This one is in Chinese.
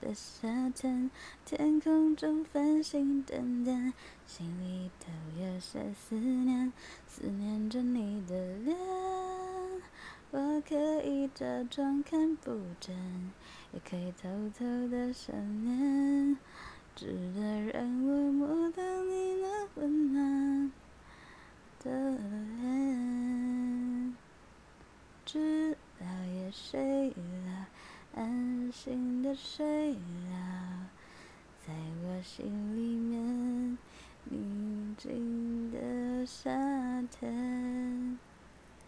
的夏天，天空中繁星点点，心里头有些思念，思念着你的脸。我可以假装看不见，也可以偷偷的想念，直到让我摸到你那温暖的脸。直到夜睡了，安心的睡了，在我心里面宁静的夏天。